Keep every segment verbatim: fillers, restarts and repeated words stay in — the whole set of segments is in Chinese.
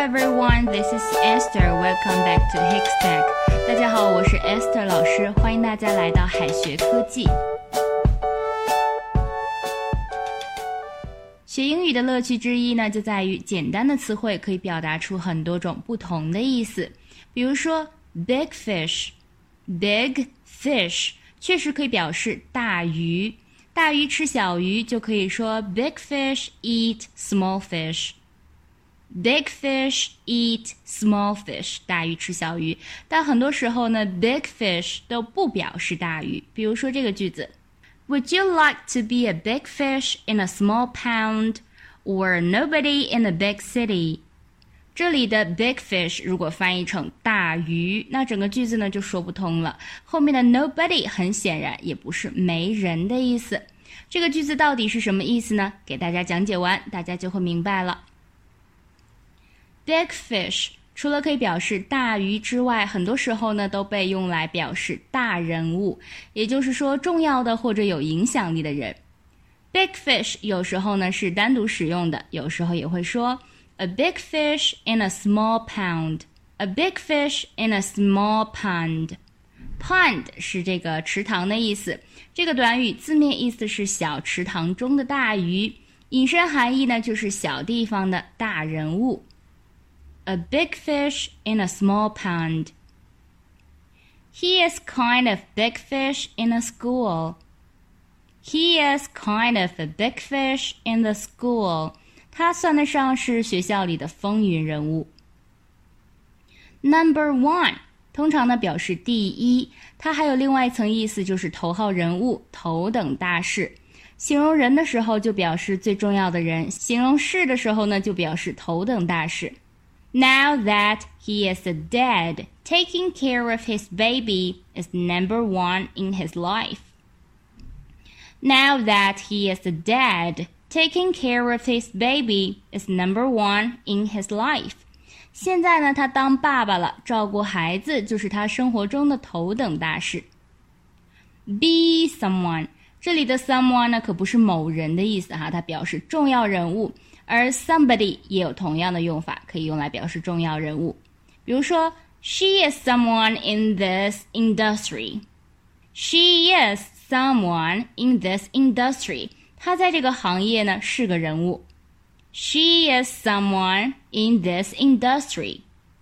everyone, this is Esther. Welcome back to Hikstech. 大家好，我是 Esther 老师，欢迎大家来到海学科技。学英语的乐趣之一呢，就在于简单的词汇可以表达出很多种不同的意思。比如说 big fish, big fish 确实可以表示大鱼，大鱼吃小鱼就可以说 big fish eat small fish。Big fish eat small fish， 大鱼吃小鱼。但很多时候呢 big fish 都不表示大鱼。比如说这个句子 Would you like to be a big fish in a small pond or nobody in a big city？ 这里的 big fish 如果翻译成大鱼，那整个句子呢就说不通了。后面的 nobody 很显然也不是没人的意思。这个句子到底是什么意思呢？给大家讲解完，大家就会明白了。Big fish 除了可以表示大鱼之外，很多时候呢都被用来表示大人物，也就是说重要的或者有影响力的人。Big fish 有时候呢是单独使用的，有时候也会说 A big fish in a small pond. A big fish in a small pond. Pond 是这个池塘的意思，这个短语字面意思是小池塘中的大鱼，引申含义呢就是小地方的大人物。A big fish in a small pond. He is kind of big fish in the school. He is kind of a big fish in the school. 他算得上是学校里的风云人物。Number one 通常呢表示第一，它还有另外一层意思，就是头号人物，头等大事。形容人的时候就表示最重要的人，形容事的时候呢就表示头等大事。Now that he is dead, taking care of his baby is number one in his life. Now that he is dead, taking care of his baby is number one in his life. 现在呢，他当爸爸了，照顾孩子就是他生活中的头等大事。Be someone， 这里的 someone 呢可不是某人的意思哈，它表示重要人物。而 somebody 也有同样的用法，可以用来表示重要人物。比如说 She is someone in this industry. She is someone in this industry. 她在这个行业呢是个人物。She is someone in this industry.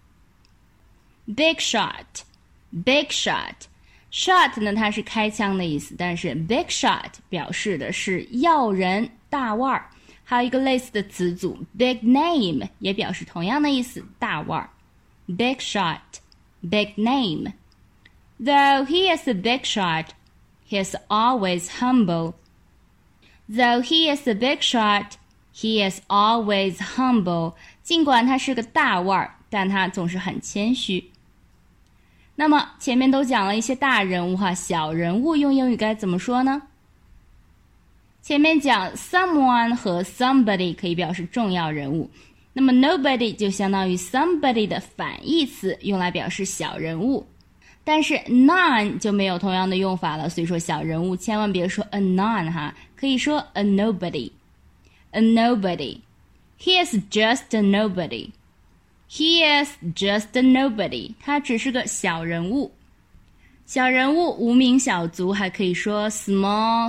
Big shot. Big shot. Shot 呢它是开枪的意思，但是 big shot 表示的是要人大腕儿。还有一个类似的词组 big name 也表示同样的意思，大腕儿。Big shot, big name. Though he is a big shot, he is always humble. Though he is a big shot, he is always humble. 尽管他是个大腕儿，但他总是很谦虚。那么前面都讲了一些大人物哈，小人物用英语该怎么说呢？前面讲 someone 和 somebody 可以表示重要人物，那么 nobody 就相当于 somebody 的反义词，用来表示小人物。但是 none 就没有同样的用法了，所以说小人物千万别说 a none 哈，可以说 a nobody. A nobody. He is just a nobody. He is just a nobody. 他只是个小人物。小人物无名小卒还可以说 small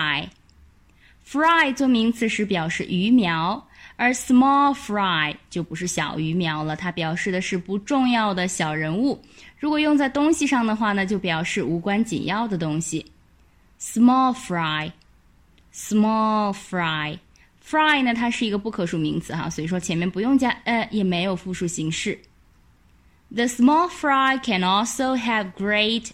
fry.Fry 做名词时表示鱼苗，而 small fry 就不是小鱼苗了，它表示的是不重要的小人物。如果用在东西上的话呢，就表示无关紧要的东西。Small fry, small fry. Fry 呢，它是一个不可数名词哈，所以说前面不用加 a， 也没有复数形式。The small fry can also have great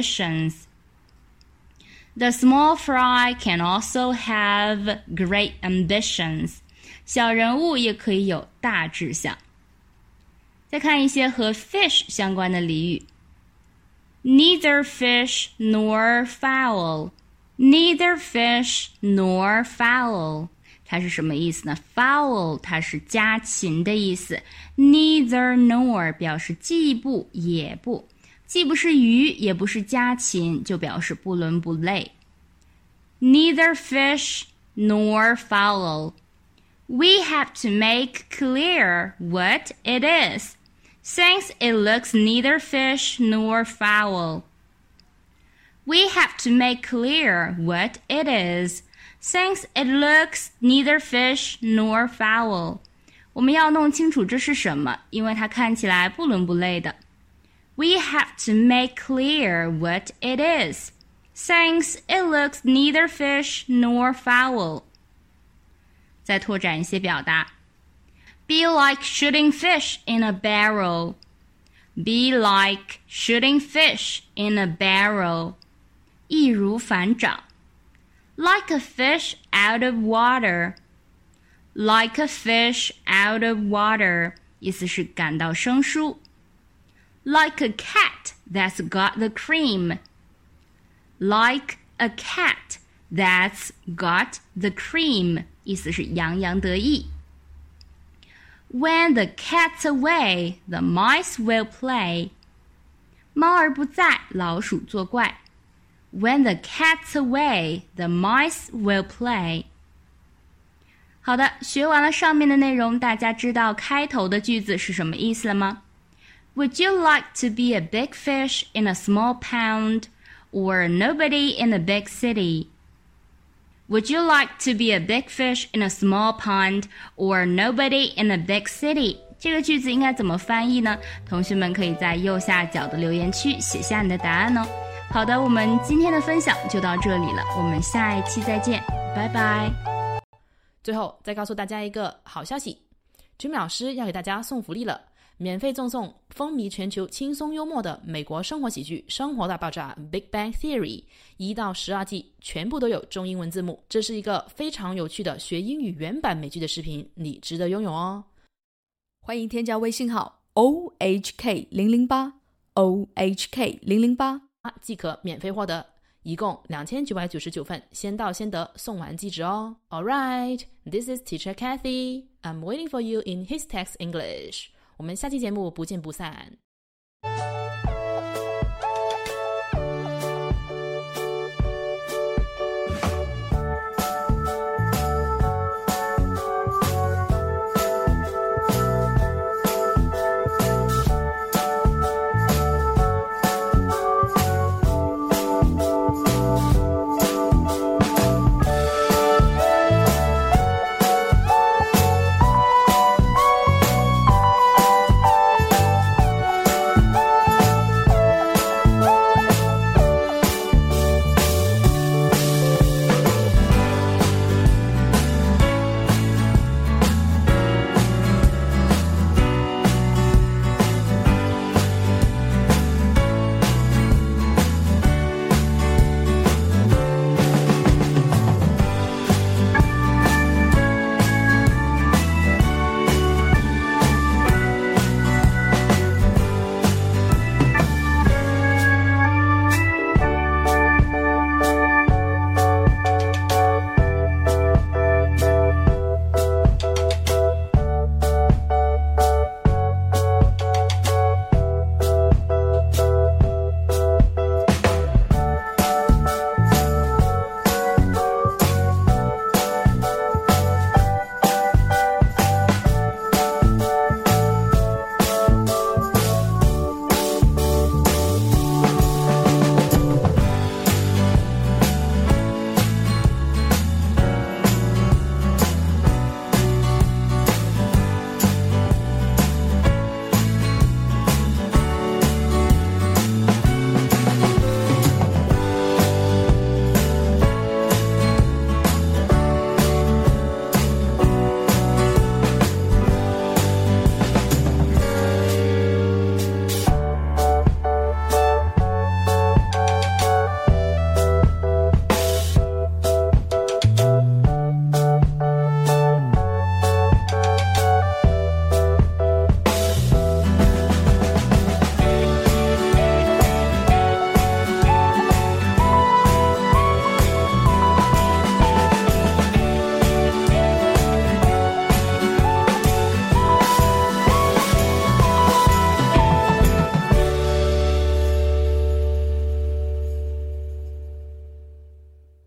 ambitions.The small fry can also have great ambitions. 小人物也可以有大志向。再看一些和 fish 相关的俚语。Neither fish nor fowl. Neither fish nor fowl. 它是什么意思呢？ Fowl 它是家禽的意思。Neither nor 表示既不也不。既不是鱼，也不是家禽，就表示不伦不类。Neither fish nor fowl. We have to make clear what it is, since it looks neither fish nor fowl. We have to make clear what it is, since it looks neither fish nor fowl. 我们要弄清楚这是什么，因为它看起来不伦不类的。We have to make clear what it is, since it looks neither fish nor fowl. 再拓展一些表达。Be like shooting fish in a barrel. Be like shooting fish in a barrel. 易如反掌。Like a fish out of water. Like a fish out of water. 意思是感到生疏。Like a cat that's got the cream. Like a cat that's got the cream. 意思是洋洋得意。When the cat's away, the mice will play. 猫儿不在，老鼠作怪。When the cat's away, the mice will play. 好的，学完了上面的内容，大家知道开头的句子是什么意思了吗？ Would you like to be a big fish in a small pond, or nobody in a big city?Would you like to be a big fish in a small pond, or nobody in a big city? 这个句子应该怎么翻译呢？同学们可以在右下角的留言区写下你的答案哦。好的，我们今天的分享就到这里了，我们下一期再见，拜拜。 最后再告诉大家一个好消息，Jimmy 老师要给大家送福利了，免费赠送风靡全球轻松幽默的美国生活喜剧《生活大爆炸》 Big Bang Theory 一到十二季全部都有中英文字幕，这是一个非常有趣的学英语原版美剧的视频，你值得拥有哦。 欢迎添加微信号 O H K 零零八 O H K 零零八即可免费获得，一共两千九百九十九份，先到先得，送完即止哦。Alright, this is Teacher Kathy. I'm waiting for you in His Text English. 我们下期节目不见不散。